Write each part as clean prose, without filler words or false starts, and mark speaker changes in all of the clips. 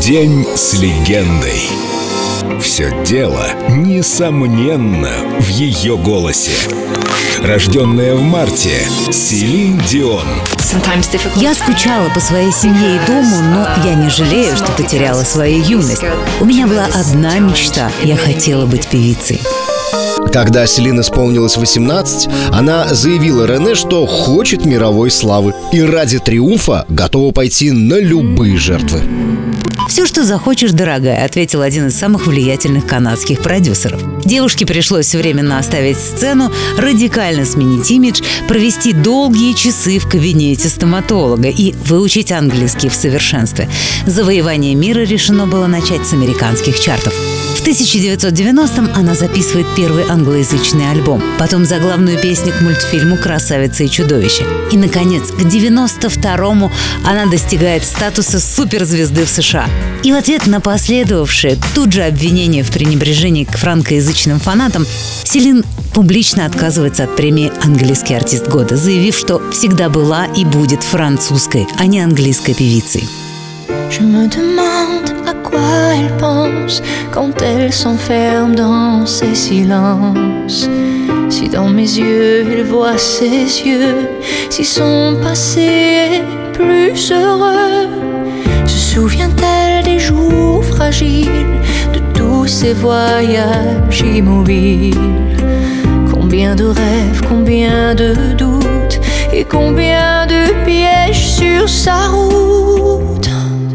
Speaker 1: День с легендой. Все дело, несомненно, в ее голосе. Рожденная в марте, Селин Дион.
Speaker 2: Я скучала по своей семье и дому, но я не жалею, что потеряла свою юность. У меня была одна мечта – я хотела быть певицей.
Speaker 3: Когда Селин исполнилось 18, она заявила Рене, что хочет мировой славы и ради триумфа готова пойти на любые жертвы.
Speaker 2: «Все, что захочешь, дорогая», — ответил один из самых влиятельных канадских продюсеров. Девушке пришлось временно оставить сцену, радикально сменить имидж, провести долгие часы в кабинете стоматолога и выучить английский в совершенстве. Завоевание мира решено было начать с американских чартов. В 1990-м она записывает первый англоязычный альбом, потом заглавную песню к мультфильму «Красавица и чудовище». И, наконец, к 92-му она достигает статуса суперзвезды в США. И в ответ на последовавшее тут же обвинение в пренебрежении к франкоязычным фанатам, Селин публично отказывается от премии «Английский артист года», заявив, что всегда была и будет французской, а не английской певицей.
Speaker 4: Je me demande à quoi elle pense quand elle s'enferme dans ses silences. Si dans mes yeux elle voit ses yeux, si son passé est plus heureux. Se souvient-elle des jours fragiles, de tous ces voyages immobiles? Combien de rêves, combien de doutes et combien de pièges sur sa route.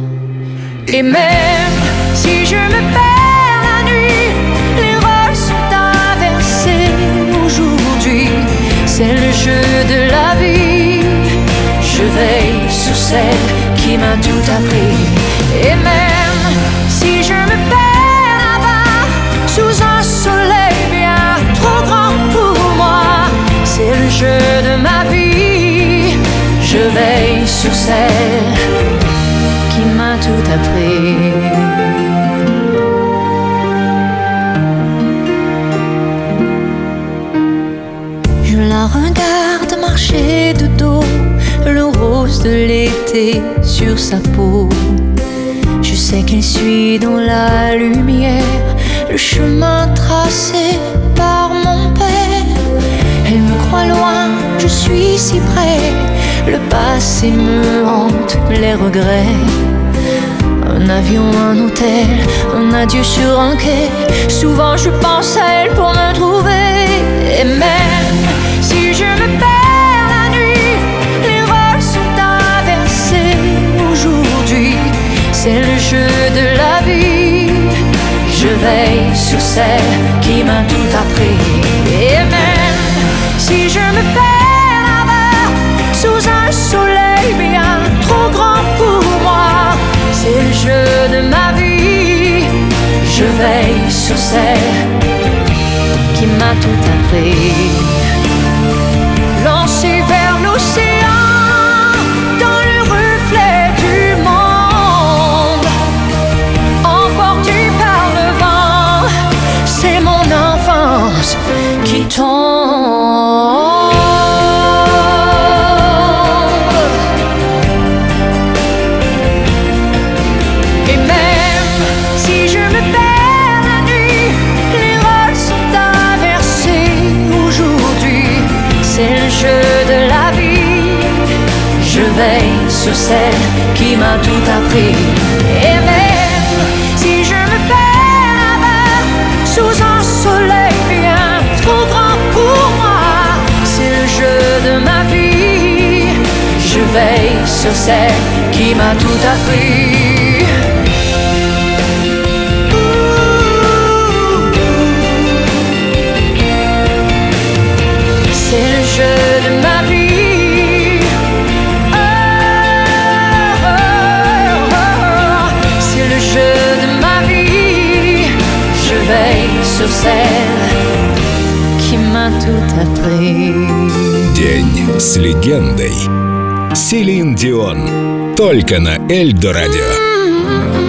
Speaker 4: Et même si je me perds la nuit, les rôles sont inversés aujourd'hui. C'est le jeu de la vie. Je veille sur celle qui m'a tout appris. Et même si je me perds là-bas, sous un soleil bien trop grand pour moi, c'est le jeu de ma vie. Je veille sur celle qui m'a tout appris. Je la regarde marcher de dos, le rose de l'été sur sa peau. Je sais qu'elle suit dans la lumière le chemin tracé par mon père. Elle me croit loin, je suis si près. Le passé me hante, les regrets. Un avion, un hôtel, un adieu sur un quai. Souvent je pense à elle pour me trouver. Et même si je me perds la nuit, les rôles sont inversés aujourd'hui. C'est le jeu de la vie. Je veille sur celle qui m'a tout appris. Et même si je me perds là-bas, sous un soleil bien trop grand pour moi, c'est le jeu de ma vie. Je veille sur celle qui m'a tout appris. Lancé vers l'océan, dans le reflet du monde, emporté par le vent, c'est mon enfance qui tombe. Je veille sur celle qui m'a tout appris. Et même si je me perds là-bas, sous un soleil bien trop grand pour moi, c'est le jeu de ma vie. Je veille sur celle qui m'a tout appris. C'est le jeu de ma vie. Sur celle qui m'a tout appris.
Speaker 1: День с легендой. Селин Дион. Только на Эльдо радио.